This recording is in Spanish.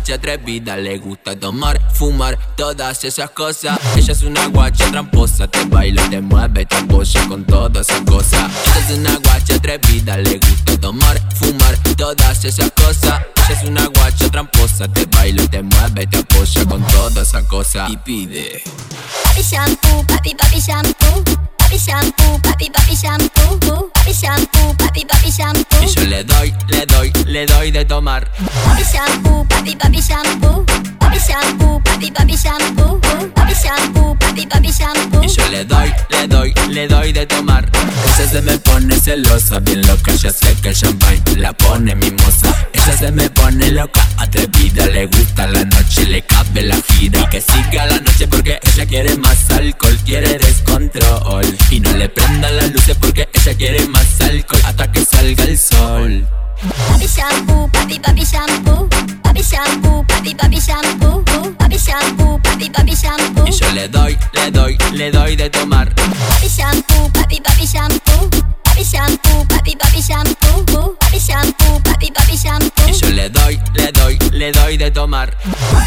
guacha atrevida, le gusta tomar, fumar, todas esas cosas. Ella es una guacha tramposa, te baila, te mueve, te apoya con todas esas cosas. Ella es una guacha atrevida, le gusta tomar, fumar, todas esas cosas. Ella es una guacha tramposa, te baila, te mueve, te apoya con todas esas cosas. Y pide papi shampoo, papi shampoo, papi shampoo, papi shampoo, papi shampoo, papi shampoo. Y yo le doy de tomar. Papi shampoo, papi shampoo, papi shampoo, papi shampoo, papi shampoo, papi shampoo. Y yo le doy de tomar. Ella se me pone celosa, bien loca, ya sé que el champagne la pone mimosa. Ella se me pone loca, atrevida, le gusta la noche, le cabe la gira. Y que siga la noche porque ella quiere más alcohol, quiere descontrol. Y no le prenda las luces porque ella quiere más alcohol hasta que salga el sol. Papi shampoo, papi shampoo, papi shampoo, papi shampoo, papi shampoo, papi shampoo. Y yo le doy de tomar. Papi shampoo, papi shampoo, papi shampoo, papi shampoo, papi shampoo, papi shampoo. Y yo le doy de tomar.